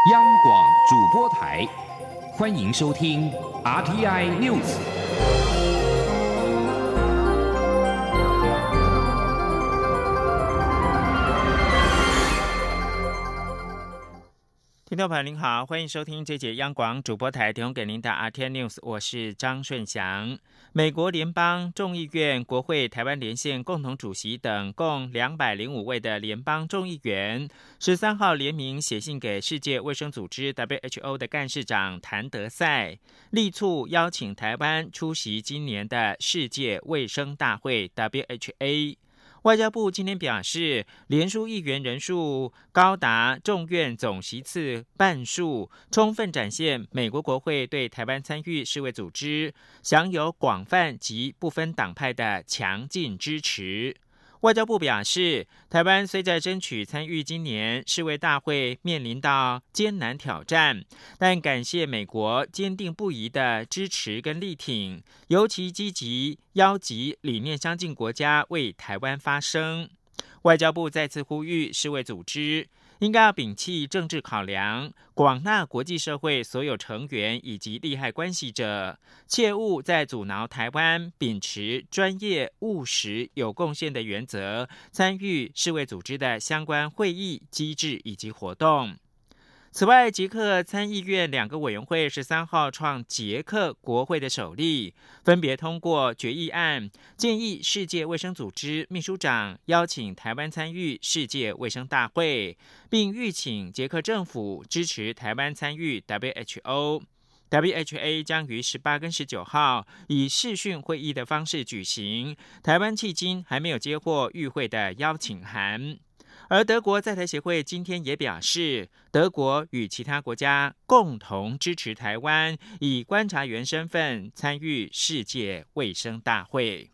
央广主播台，欢迎收听 RTI News。 听众朋友您好，欢迎收听这节央广主播台提供给您的 RTI News， 我是张顺祥。美国联邦众议院国会台湾连线共同主席等共205位的联邦众议员13号联名写信给世界卫生组织 WHO 的干事长谭德赛，力促邀请台湾出席今年的世界卫生大会 WHA。外交部今天表示，联署议员人数高达众院总席次半数，充分展现美国国会对台湾参与世卫组织享有广泛及不分党派的强劲支持。外交部表示，台湾虽在争取参与今年世卫大会面临到艰难挑战，但感谢美国坚定不移的支持跟力挺，尤其积极邀集理念相近国家为台湾发声。外交部再次呼吁世卫组织应该要摒弃政治考量，广纳国际社会所有成员以及利害关系者，切勿在阻挠台湾秉持专业、务实、有贡献的原则，参与世卫组织的相关会议、机制以及活动。此外，捷克参议院2个委员会13号创捷克国会的首例，分别通过决议案，建议世界卫生组织秘书长邀请台湾参与世界卫生大会，并吁请捷克政府支持台湾参与 WHO。WHA 将于18跟19号以视讯会议的方式举行，台湾迄今还没有接获与会的邀请函。而德国在台协会今天也表示，德国与其他国家共同支持台湾以观察员身份参与世界卫生大会。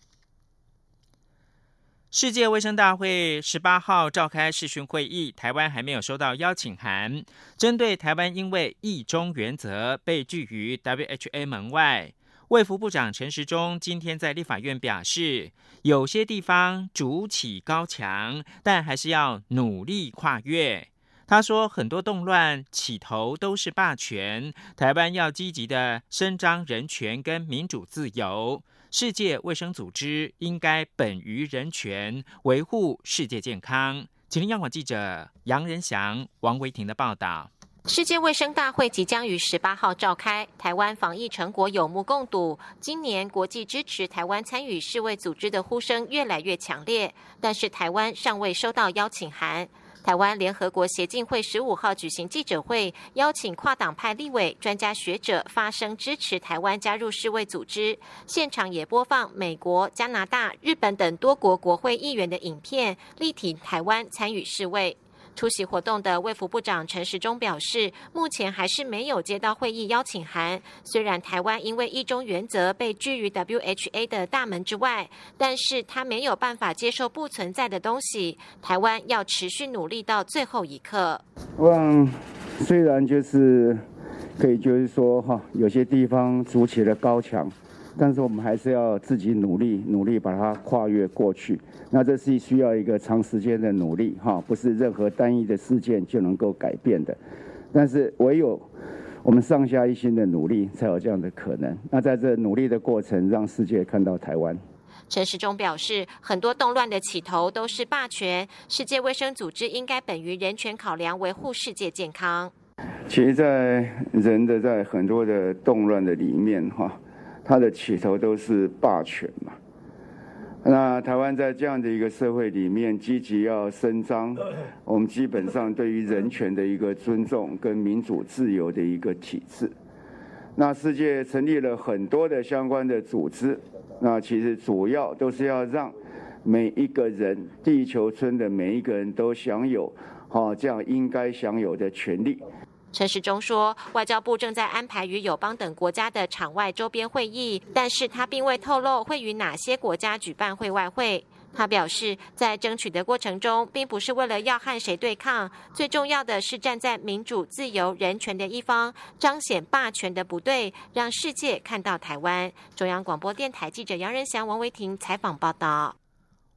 世界卫生大会18号召开视讯会议，台湾还没有收到邀请函。针对台湾因为一中原则被拒于 WHA 门外，卫福部长陈时中今天在立法院表示，有些地方筑起高墙，但还是要努力跨越。他说，很多动乱起头都是霸权，台湾要积极的伸张人权跟民主自由。世界卫生组织应该本于人权，维护世界健康。请听央广记者杨仁祥、王维婷的报道。 世界卫生大会即将于18号召开，台湾防疫成果有目共睹。今年国际支持台湾参与世卫组织的呼声越来越强烈，但是台湾尚未收到邀请函。台湾联合国协进会15号举行记者会，邀请跨党派立委、专家学者发声支持台湾加入世卫组织。现场也播放美国、加拿大、日本等多国国会议员的影片，力挺台湾参与世卫。出席活动的卫福部长陈时中表示，目前还是没有接到会议邀请函。虽然台湾因为一中原则被拒于 WHA 的大门之外，但是他没有办法接受不存在的东西。台湾要持续努力到最后一刻。 虽然可以说有些地方筑起了高墙，但是我们还是要自己努力把它跨越过去。那这是需要一个长时间的努力不是任何单一的事件就能够改变的。但是唯有我们上下一心的努力，才有这样的可能。那在这努力的过程，让世界看到台湾。 陈时中表示，很多动乱的起头都是霸权，世界卫生组织应该本于人权考量，维护世界健康。 其实在很多的动乱的里面它的起头都是霸权嘛。那台湾在这样的一个社会里面，积极要伸张我们基本上对于人权的一个尊重跟民主自由的一个体制。那世界成立了很多的相关的组织，那其实主要都是要让每一个人，地球村的每一个人都享有这样应该享有的权利。 陈时中说，外交部正在安排与友邦等国家的场外周边会议，但是他并未透露会与哪些国家举办会外会。他表示，在争取的过程中，并不是为了要和谁对抗，最重要的是站在民主、自由、人权的一方，彰显霸权的不对，让世界看到台湾。中央广播电台记者杨仁祥、王维婷采访报道。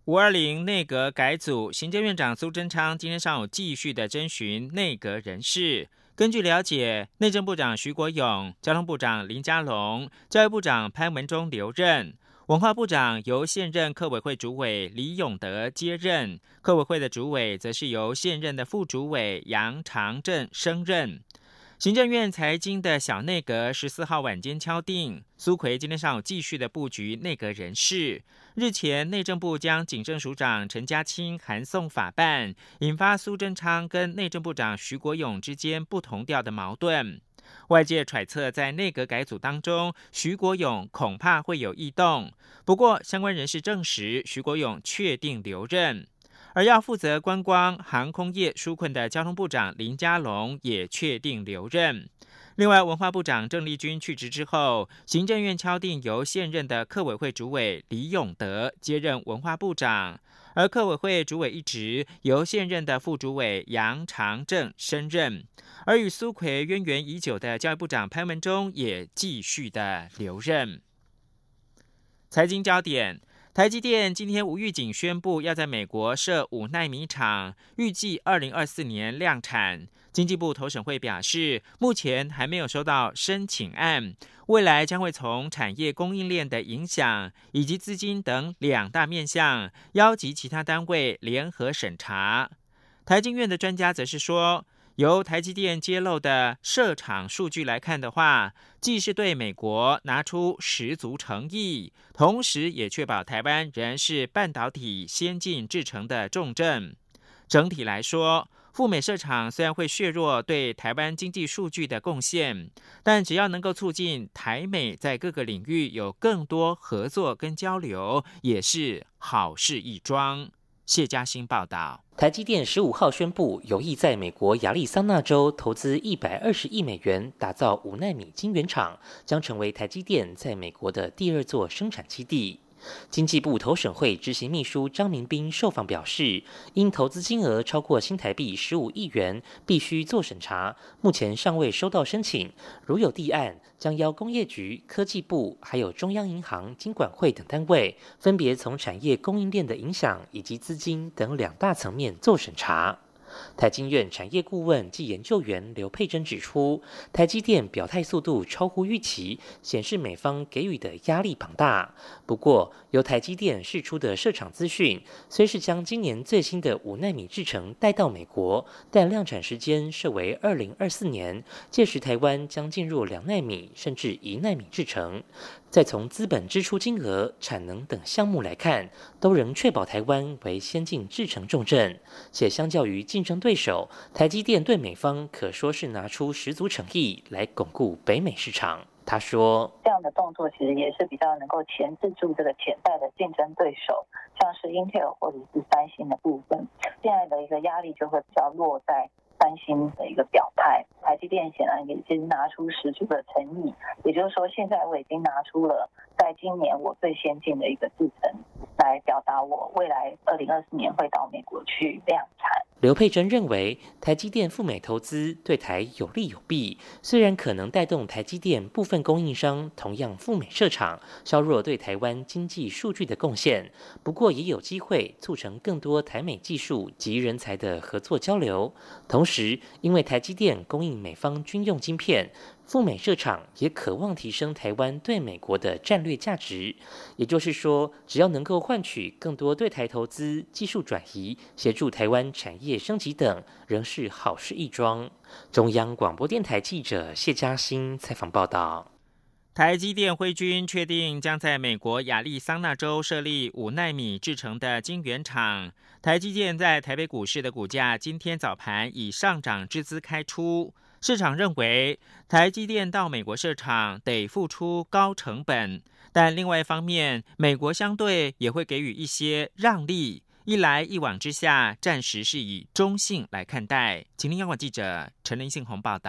520内阁改组，行政院长苏贞昌今天上午继续的征询内阁人士。根据了解，内政部长徐国勇、交通部长林佳龙、教育部长潘文忠留任，文化部长由现任客委会主委李永德接任，客委会的主委则是由现任的副主委杨长正升任。行政院财经的小内阁14号晚间敲定，苏揆今天上午继续的布局内阁人事。日前，内政部将警政署长陈家清函送法办，引发苏贞昌跟内政部长徐国勇之间不同调的矛盾。外界揣测，在内阁改组当中，徐国勇恐怕会有异动。不过，相关人士证实，徐国勇确定留任。而要负责观光航空业纾困的交通部长林佳龙也确定留任。另外，文化部长郑丽君去职之后，行政院敲定由现任的客委会主委李永德接任文化部长，而客委会主委一职由现任的副主委杨长正升任。而与苏揆渊源已久的教育部长潘文忠也继续的留任。财经焦点，台积电今天无预警宣布要在美国设5奈米厂，预计2024年量产。经济部投审会表示，目前还没有收到申请案，未来将会从产业供应链的影响以及资金等2大面向，邀集其他单位联合审查。台经院的专家则是说，由台积电揭露的设厂数据来看的话，既是对美国拿出十足诚意，同时也确保台湾仍然是半导体先进制程的重镇。整体来说，赴美设厂虽然会削弱对台湾经济数据的贡献，但只要能够促进台美在各个领域有更多合作跟交流，也是好事一桩。谢嘉欣报道。 台积电15号宣布，有意在美国亚利桑那州投资120亿美元，打造5奈米晶圆厂，将成为台积电在美国的第2座生产基地。经济部投审会执行秘书张明斌受访表示，因投资金额超过新台币15亿元，必须做审查，目前尚未收到申请，如有立案，将邀工业局、科技部还有中央银行、金管会等单位，分别从产业供应链的影响以及资金等2大层面做审查。台经院产业顾问暨研究员刘佩珍指出，台积电表态速度超乎预期，显示美方给予的压力庞大。不过，由台积电释出的设厂资讯，虽是将今年最新的5奈米制程带到美国，但量产时间设为2024年，届时台湾将进入2奈米甚至1奈米制程。再从资本支出金额、产能等项目来看，都仍确保台湾为先进制程重镇，且相较于竞争对手，台积电对美方可说是拿出十足诚意来巩固北美市场。他说， 这样的动作其实也是比较能够钳制住这个潜在的竞争对手，像是 Intel 或者是三星的部分，现在的一个压力就会比较落在三星的一个表态。台积电显然也是拿出十足的诚意，也就是说，现在我已经拿出了在今年我最先进的一个制程，来表达我未来2024年会到美国去量产。 刘佩珍认为，台积电赴美投资对台有利有弊，虽然可能带动台积电部分供应商同样赴美设厂，削弱对台湾经济数据的贡献，不过也有机会促成更多台美技术及人才的合作交流。同时，因为台积电供应美方军用晶片，赴美设厂也渴望提升台湾对美国的战略价值。也就是说，只要能够换取更多对台投资、技术转移，协助台湾产业升级等，仍是好事一桩。中央广播电台记者谢嘉欣采访报道。 台积电辉军确定将在美国亚利桑那州设立5奈米制程的晶圆厂。台积电在台北股市的股价今天早盘以上涨之姿开出。市场认为，台积电到美国设厂得付出高成本，但另外一方面，美国相对也会给予一些让利。一来一往之下，暂时是以中性来看待。请听央广记者陈林信宏报道。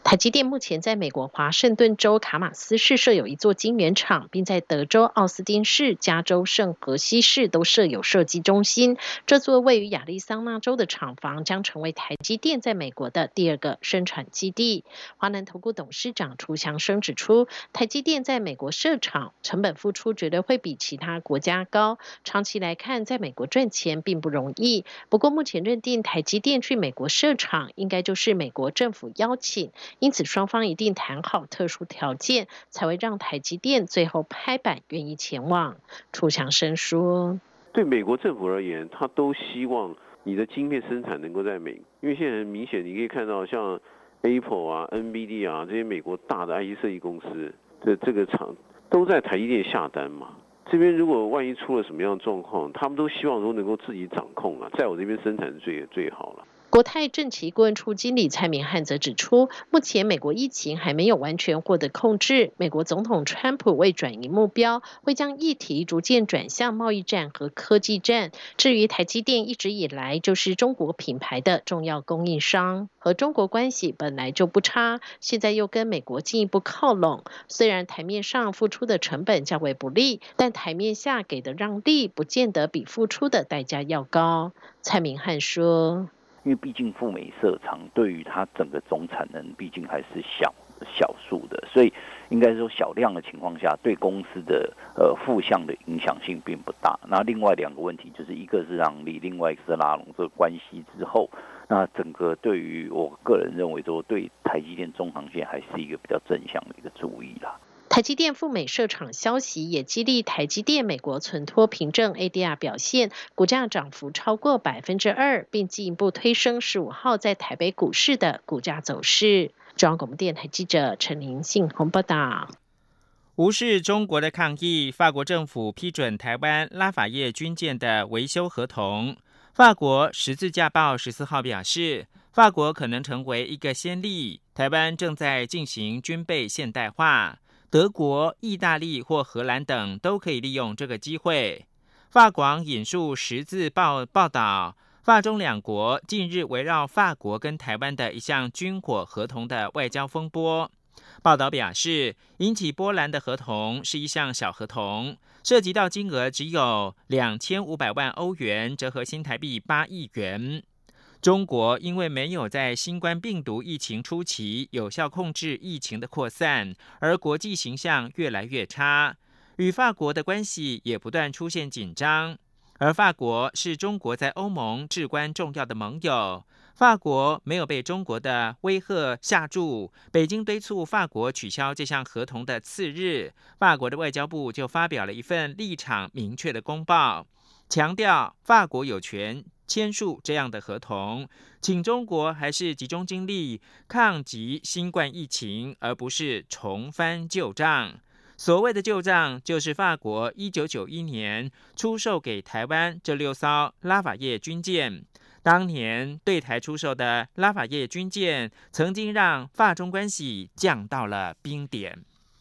台积电目前在美国华盛顿州卡马斯市设有一座晶圆厂，并在德州奥斯汀市、加州圣荷西市都设有设计中心。这座位于亚利桑那州的厂房将成为台积电在美国的第2个生产基地。华南投顾董事长楚祥生指出，台积电在美国设厂，成本付出绝对会比其他国家高，长期来看，在美国赚钱并不容易。不过目前认定台积电去美国设厂，应该就是美国政府邀请，因此双方一定谈好特殊条件，才会让台积电最后拍板愿意前往。楚祥生说， 对美国政府而言，他都希望你的晶片生产能够在美国，因为现在很明显你可以看到像 Apple 啊、NVIDIA 啊这些美国大的 IC 设计公司的这个厂都在台积电下单嘛。这边如果万一出了什么样的状况，他们都希望说能够自己掌控啊，在我这边生产最好了。 国泰政企顾问处经理蔡明汉则指出，目前美国疫情还没有完全获得控制，美国总统川普为转移目标，会将议题逐渐转向贸易战和科技战。至于台积电一直以来就是中国品牌的重要供应商，和中国关系本来就不差，现在又跟美国进一步靠拢，虽然台面上付出的成本较为不利，但台面下给的让利不见得比付出的代价要高。蔡明汉说， 因为毕竟赴美设厂对于它整个总产能毕竟还是小数的，所以应该说小量的情况下，对公司的负向的影响性并不大。那另外2个问题就是一个是让利，另外一个是拉拢这个关系之后，那整个对于我个人认为说对台积电中长线还是一个比较正向的一个注意啦。 台积电赴美设厂消息也激励台积电美国存托凭证 ADR 表现，股价涨幅超过 2%， 并进一步推升15号在台北股市的股价走势。中央广播电台记者陈琳信鸿报道。 无视中国的抗议，法国政府批准台湾拉法叶军舰的维修合同。法国十字架报14号表示，法国可能成为一个先例，台湾正在进行军备现代化。德国、意大利或荷兰等都可以利用这个机会。法广引述十字报报道，法中两国近日围绕法国跟台湾的一项军火合同的外交风波。报道表示，引起波澜的合同是一项小合同，涉及到金额只有2500万欧元，折合新台币8亿元。中国因为没有在新冠病毒疫情初期有效控制疫情的扩散，而国际形象越来越差，与法国的关系也不断出现紧张。而法国是中国在欧盟至关重要的盟友，法国没有被中国的威吓吓住。北京敦促法国取消这项合同的次日，法国的外交部就发表了一份立场明确的公报，强调法国有权签署这样的合同，请中国还是集中精力抗击新冠疫情，而不是重翻旧账。所谓的旧账，就是法国1991年出售给台湾这6艘拉法叶军舰。当年对台出售的拉法叶军舰，曾经让法中关系降到了冰点。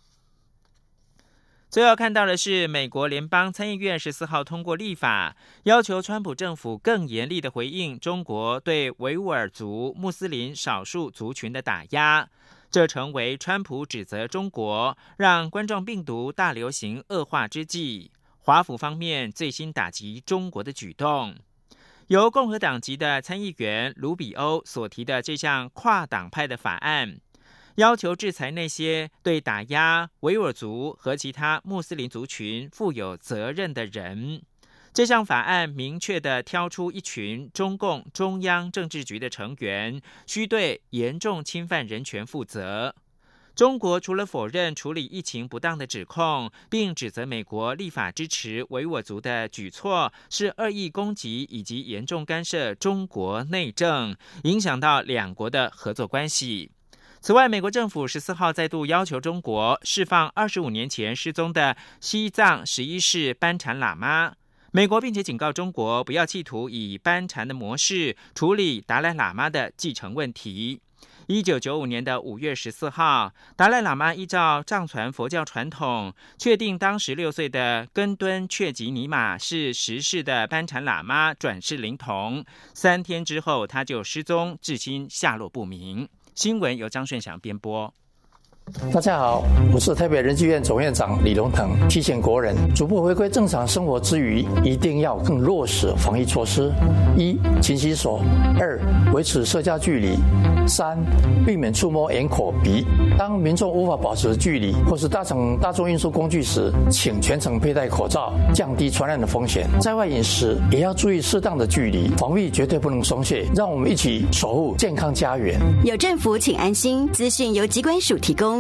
最后看到的是，美国联邦参议院14号通过立法，要求川普政府更严厉的回应中国对维吾尔族穆斯林少数族群的打压。这成为川普指责中国让冠状病毒大流行恶化之际，华府方面最新打击中国的举动。由共和党籍的参议员卢比欧所提的这项跨党派的法案，要求制裁那些对打压维吾尔族和其他穆斯林族群负有责任的人。这项法案明确地挑出一群中共中央政治局的成员，需对严重侵犯人权负责。中国除了否认处理疫情不当的指控，并指责美国立法支持维吾尔族的举措是恶意攻击以及严重干涉中国内政，影响到两国的合作关系。此外，美国政府14号再度要求中国释放25年前失踪的西藏11世班禅喇嘛。美国并且警告中国不要企图以班禅的模式处理达赖喇嘛的继承问题。1995年的5月14号，达赖喇嘛依照藏传佛教传统，确定当时6岁的根敦却吉尼玛是10世的班禅喇嘛转世灵童。3天之后，他就失踪，至今下落不明。 新闻由张顺祥编播。 大家好，我是台北人纪院总院长李荣腾。提醒国人逐步回归正常生活之余，一定要更落实防疫措施：一、勤洗手；二、维持社交距离；三、避免触摸眼、口、鼻。当民众无法保持距离或是搭乘大众运输工具时，请全程佩戴口罩，降低传染的风险。在外饮食也要注意适当的距离，防疫绝对不能松懈。让我们一起守护健康家园。 有政府，请安心。资讯由疾管署提供。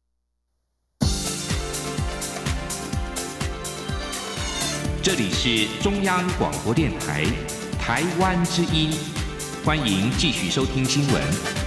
这里是中央广播电台台湾之音，欢迎继续收听新闻。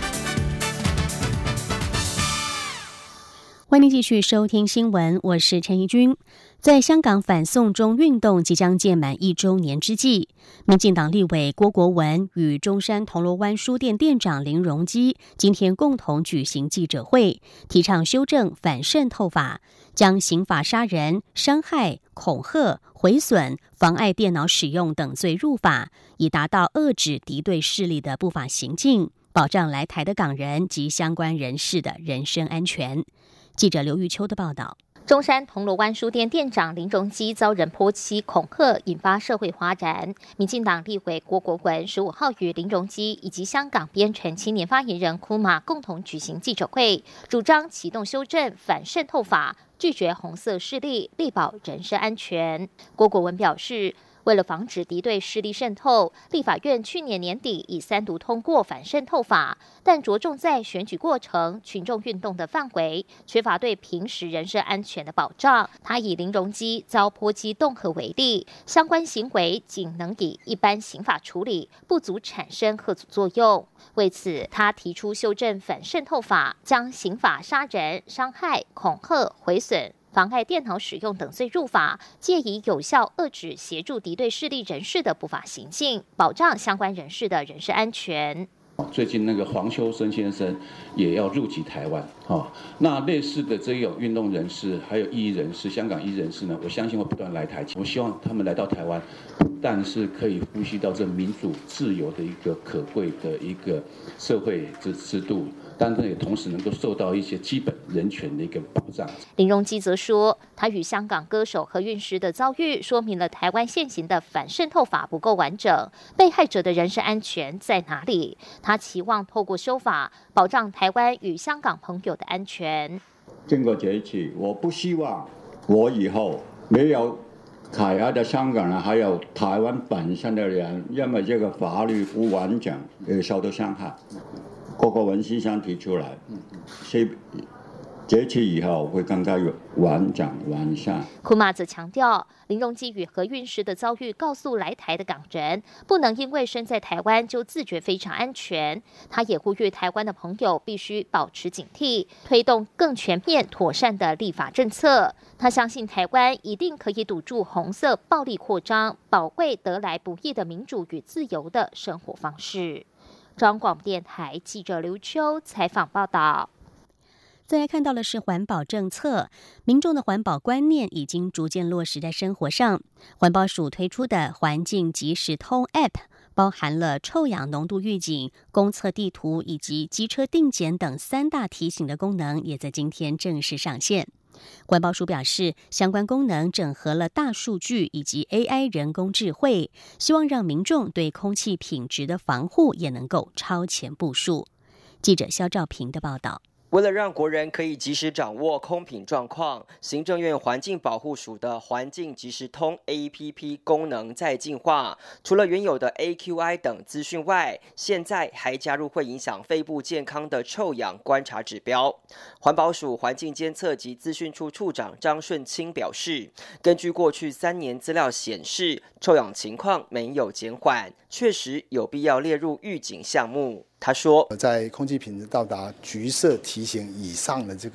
欢迎继续收听新闻，我是陈怡君。在香港反送中运动即将届满1周年之际，民进党立委郭国文与中山铜锣湾书店店长林荣基今天共同举行记者会，提倡修正反渗透法，将刑法杀人、伤害、恐吓、毁损、妨碍电脑使用等罪入法，以达到遏制敌对势力的不法行径，保障来台的港人及相关人士的人身安全。记者刘玉秋的报道。 中山铜锣湾书店店长林荣基遭人泼漆恐吓，引发社会哗然。民进党立委郭国文15号与林荣基以及香港编程青年发言人库马共同举行记者会，主张启动修正反渗透法，拒绝红色势力，力保人身安全。郭国文表示，为了防止敌对势力渗透，立法院去年年底以3读通过反渗透法，但着重在选举过程、群众运动的范围，缺乏对平时人身安全的保障。他以林荣基遭泼漆恫吓为例，相关行为仅能以一般刑法处理，不足产生吓阻作用。为此，他提出修正反渗透法，将刑法杀人、伤害、恐吓、毁损、妨碍电脑使用等罪入法，借以有效遏制协助敌对势力人士的不法行径，保障相关人士的人身安全。 最近那个黄秋生先生也要入籍台湾，那类似的这种运动人士，还有异议人士、香港异议人士呢，我相信会不断来台。我希望他们来到台湾，不但是可以呼吸到这民主自由的一个可贵的一个社会制度，但是也同时能够受到一些基本人权的一个保障。 林荣基则说，他与香港歌手何韵诗的遭遇，说明了台湾现行的反渗透法不够完整，被害者的人身安全在哪里？他期望透过修法，保障台湾与香港朋友的安全。 经过这一次，我不希望我以后没有海外的香港人，还有台湾本身的人，因为这个法律不完整而受到伤害。郭国文先生提出来，这次以后会更加完整完善。 库马则强调，林荣基与何韵诗的遭遇告诉来台的港人，不能因为身在台湾就自觉非常安全。他也呼吁台湾的朋友必须保持警惕，推动更全面妥善的立法政策。他相信台湾一定可以堵住红色暴力扩张，保卫得来不易的民主与自由的生活方式。中央广播电台记者刘秋采访报道。 再来看到的是环保政策，民众的环保观念已经逐渐落实在生活上。环保署推出的环境即时通 App 包含了臭氧浓度预警、公测地图以及机车定检等3大提醒的功能，也在今天正式上线。环保署表示，相关功能整合了大数据以及 AI 人工智慧，希望让民众对空气品质的防护也能够超前部署。记者肖兆平的报道。 为了让国人可以及时掌握空品状况，行政院环境保护署的环境即时通 APP 功能在进化。除了原有的 AQI 等资讯外，现在还加入会影响肺部健康的臭氧观察指标。环保署环境监测及资讯处处长张顺清表示，根据过去3年资料显示，臭氧情况没有减缓，确实有必要列入预警项目。他说， 在空气品质到达橘色提醒以上的这个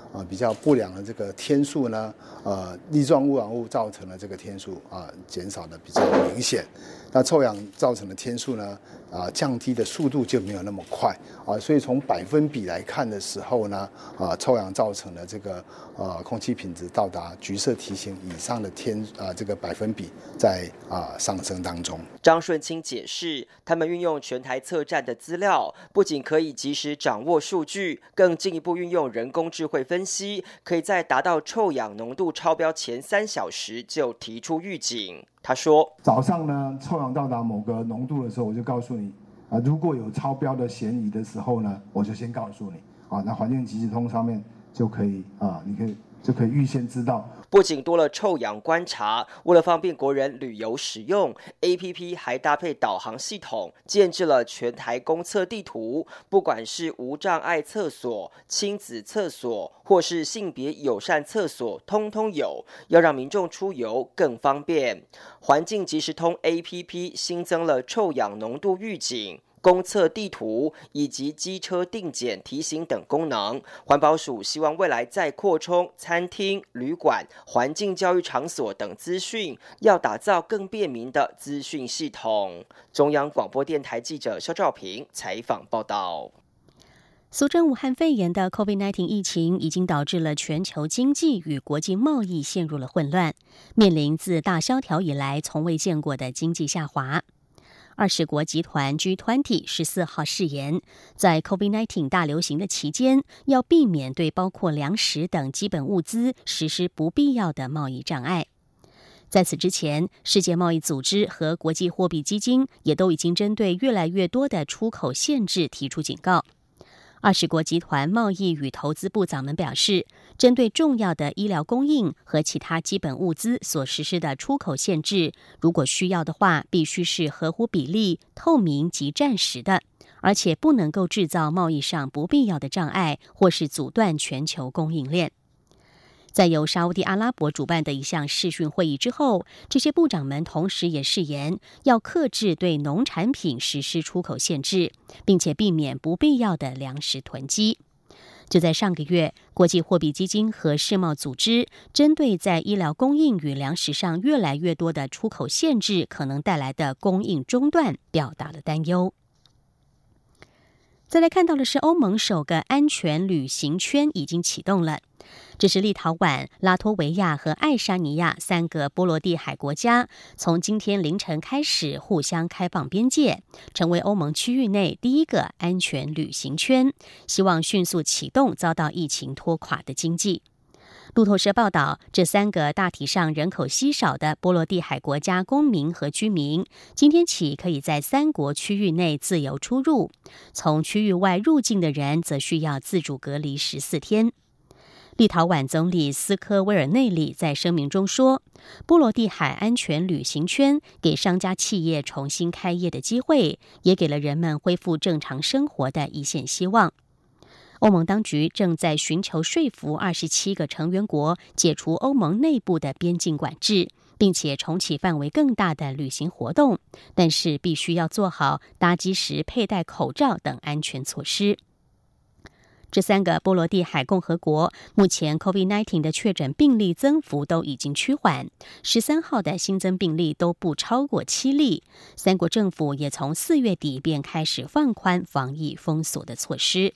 比较不良的这个天数呢，粒状污染物造成的这个天数减少的比较明显。那臭氧造成的天数呢，降低的速度就没有那么快所以从百分比来看的时候呢，臭氧造成的这个空气品质到达橘色提醒以上的这个百分比在上升当中。 张顺清解释，他们运用全台测站的资料，不仅可以及时掌握数据，更进一步运用人工智慧分析，可以在达到臭氧浓度超标前3小时就提出预警。他说， 早上呢，臭氧到达某个浓度的时候，我就告诉你如果有超标的嫌疑的时候呢，我就先告诉你那环境即时通上面就可以就可以预先知道。 不仅多了臭氧观察，为了方便国人旅游使用 ，APP 还搭配导航系统，建置了全台公厕地图，不管是无障碍厕所、亲子厕所，或是性别友善厕所，通通有，要让民众出游更方便。环境即时通 APP 新增了臭氧浓度预警、公厕地图以及机车定检提醒等功能。环保署希望未来再扩充餐厅、旅馆、环境教育场所等资讯，要打造更便民的资讯系统。中央广播电台记者肖兆平采访报道。 俗称武汉肺炎的 COVID-19 疫情已经导致了全球经济与国际贸易陷入了混乱，面临自大萧条以来从未见过的经济下滑。20国集团 G20 14号誓言，在 COVID-19 大流行的期间，要避免对包括粮食等基本物资实施不必要的贸易障碍。在此之前，世界贸易组织和国际货币基金也都已经针对越来越多的出口限制提出警告。20国集团贸易与投资部长们表示，针对重要的医疗供应和其他基本物资所实施的出口限制，如果需要的话，必须是合乎比例、透明及暂时的，而且不能够制造贸易上不必要的障碍，或是阻断全球供应链。在由沙烏地阿拉伯主办的一项视讯会议之后，这些部长们同时也誓言要克制对农产品实施出口限制，并且避免不必要的粮食囤积。就在上个月，国际货币基金和世贸组织针对在医疗供应与粮食上越来越多的出口限制可能带来的供应中断表达了担忧。再来看到的是，欧盟首个安全旅行圈已经启动了。这是立陶宛、拉脱维亚和爱沙尼亚3个波罗的海国家从今天凌晨开始互相开放边界，成为欧盟区域内第一个安全旅行圈，希望迅速启动遭到疫情拖垮的经济。路透社报道，这3个大体上人口稀少的波罗的海国家公民和居民，今天起可以在3国区域内自由出入，从区域外入境的人则需要自主隔离14天。立陶宛总理斯科威尔内里在声明中说，波罗的海安全旅行圈给商家企业重新开业的机会，也给了人们恢复正常生活的一线希望。欧盟当局正在寻求说服27个成员国解除欧盟内部的边境管制，并且重启范围更大的旅行活动，但是必须要做好搭机时佩戴口罩等安全措施。这3个波罗的海共和国目前 COVID-19 的确诊病例增幅都已经趋缓，13号的新增病例都不超过7例。3国政府也从4月底便开始放宽防疫封锁的措施。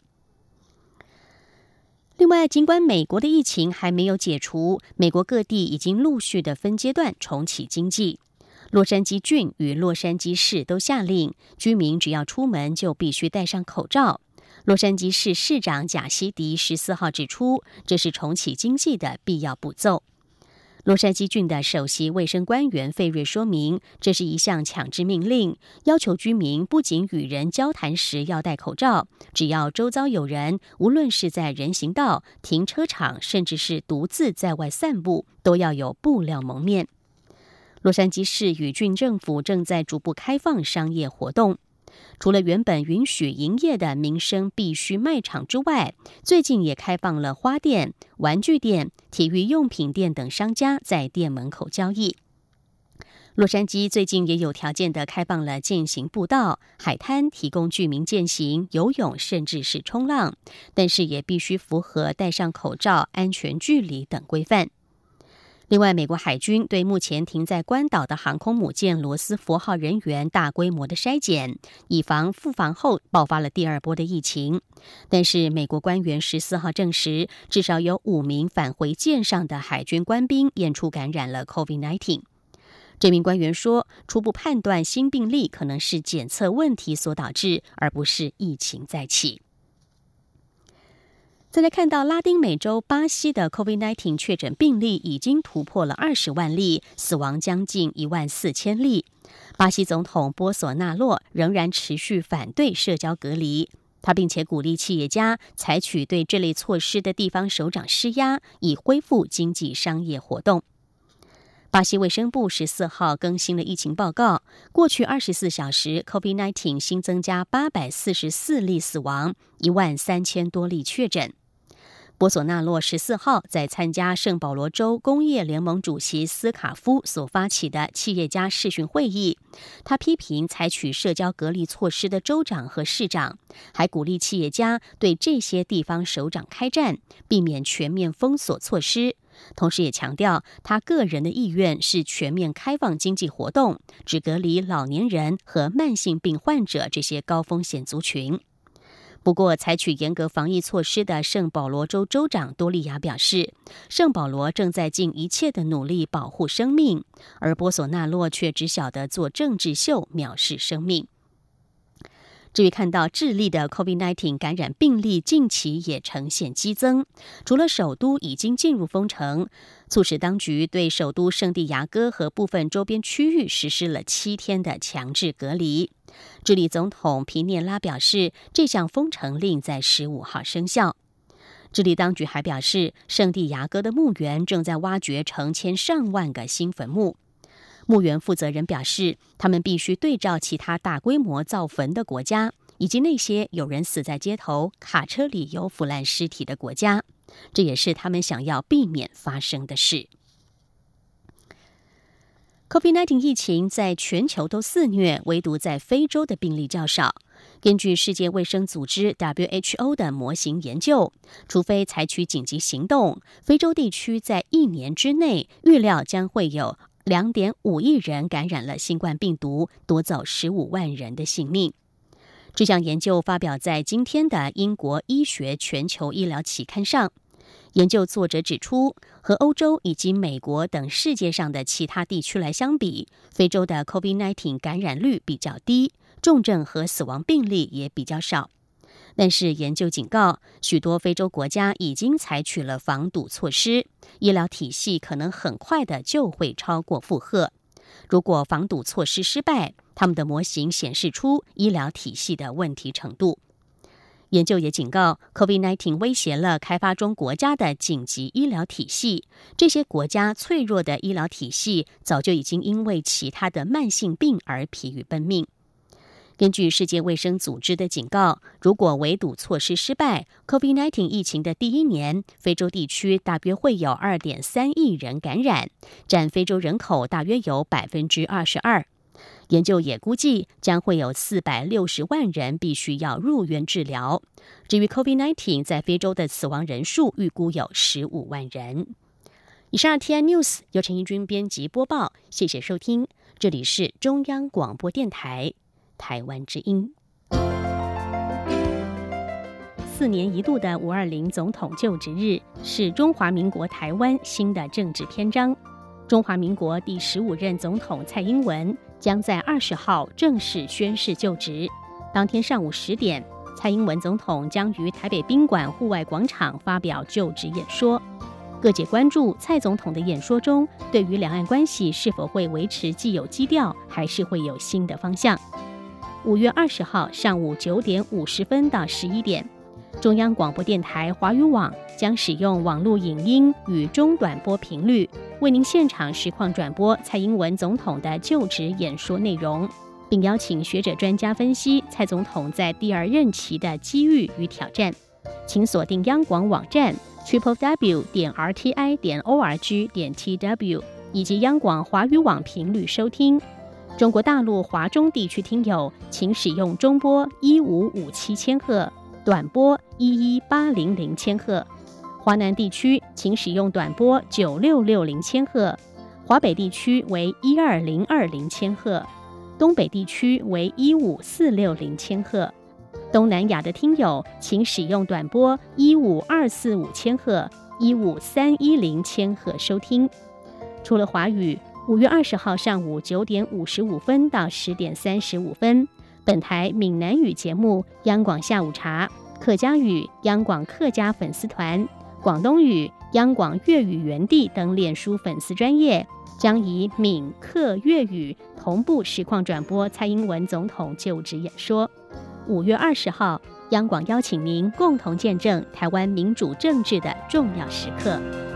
另外，尽管美国的疫情还没有解除，美国各地已经陆续的分阶段重启经济。洛杉矶郡与洛杉矶市都下令，居民只要出门就必须戴上口罩。洛杉矶市市长贾西迪14号指出，这是重启经济的必要步骤。洛杉矶郡的首席卫生官员费瑞说明，这是一项强制命令，要求居民不仅与人交谈时要戴口罩，只要周遭有人，无论是在人行道、停车场，甚至是独自在外散步，都要有布料蒙面。洛杉矶市与郡政府正在逐步开放商业活动。除了原本允许营业的民生必需卖场之外，最近也开放了花店、玩具店、体育用品店等商家在店门口交易。 洛杉矶最近也有条件地开放了健行步道、海滩，提供居民健行、游泳，甚至是冲浪，但是也必须符合戴上口罩、安全距离等规范。另外，美国海军对目前停在关岛的航空母舰罗斯福号人员大规模的筛检，以防复航后爆发了第二波的疫情。但是，美国官员14号证实，至少有5名返回舰上的海军官兵验出感染了 COVID-19。这名官员说，初步判断新病例可能是检测问题所导致，而不是疫情再起。再来看到拉丁美洲巴西的 COVID-19 确诊病例已经突破了20万例，死亡将近14000例。巴西总统波索纳洛仍然持续反对社交隔离，他并且鼓励企业家采取对这类措施的地方首长施压，以恢复经济商业活动。巴西卫生部14号更新了疫情报告，过去24小时 COVID-19 新增加844例死亡，13000多例确诊。波索纳洛14号在参加圣保罗州工业联盟主席斯卡夫所发起的企业家视讯会议，他批评采取社交隔离措施的州长和市长，还鼓励企业家对这些地方首长开战，避免全面封锁措施。同时也强调，他个人的意愿是全面开放经济活动，只隔离老年人和慢性病患者这些高风险族群。不过，采取严格防疫措施的圣保罗州州长多利亚表示，圣保罗正在尽一切的努力保护生命，而波索纳洛却只晓得做政治秀，藐视生命。至于看到智利的 COVID-19 感染病例近期也呈现激增，除了首都已经进入封城，促使当局对首都圣地亚哥和部分周边区域实施了7天的强制隔离。智利总统皮涅拉表示，这项封城令在15号生效。智利当局还表示，圣地亚哥的墓园正在挖掘成千上万个新坟墓。墓园负责人表示，他们必须对照其他大规模造坟的国家，以及那些有人死在街头、卡车里有腐烂尸体的国家，这也是他们想要避免发生的事。COVID-19 疫情在全球都肆虐，唯独在非洲的病例较少。根据世界卫生组织 WHO 的模型研究，除非采取紧急行动，非洲地区在1年之内预料将会有2.5亿人感染了新冠病毒，夺走15万人的性命。这项研究发表在今天的英国医学全球医疗期刊上。研究作者指出，和欧洲以及美国等世界上的其他地区来相比，非洲的 COVID-19 感染率比较低，重症和死亡病例也比较少。但是研究警告，许多非洲国家已经采取了防堵措施，医疗体系可能很快的就会超过负荷。如果防堵措施失败，他们的模型显示出医疗体系的问题程度。研究也警告 ，COVID-19 威胁了开发中国家的紧急医疗体系。这些国家脆弱的医疗体系早就已经因为其他的慢性病而疲于奔命。根据世界卫生组织的警告，如果围堵措施失败 ，COVID-19 疫情的第1年，非洲地区大约会有2.3亿人感染，占非洲人口大约有22%。研究也估计将会有460万人必须要入院治疗。至于 COVID-19 在非洲的死亡人数，预估有15万人。以上 TI News 由陈怡君编辑播报，谢谢收听，这里是中央广播电台台湾之音。4年一度的520总统就职日是中华民国台湾新的政治篇章。中华民国第15任总统蔡英文将在20号正式宣誓就职。当天上午10点，蔡英文总统将于台北宾馆户外广场发表就职演说。各界关注蔡总统的演说中，对于两岸关系是否会维持既有基调，还是会有新的方向。5月20号上午9点50分到11点，中央广播电台华语网将使用网络影音与中短波频率，为您现场实况转播蔡英文总统的就职演说内容，并邀请学者专家分析蔡总统在第2任期的机遇与挑战。请锁定央广网站 www.rti.org.tw， 以及央广华语网频率收听。中国大陆华中地区听友请使用中波1557千赫，短波11800千赫；华南地区请使用短波9660千赫，华北地区为12020千赫，东北地区为15460千赫。东南亚的听友请使用短波15245千赫、15310千赫收听。除了华语，5月20号上午9点55分到10点35分，本台闽南语节目央广下午茶，客家语央广客家粉丝团，广东语央广粤语园地等脸书粉丝专页将以闽客粤语同步实况转播蔡英文总统就职演说。5月20号，央广邀请您共同见证台湾民主政治的重要时刻。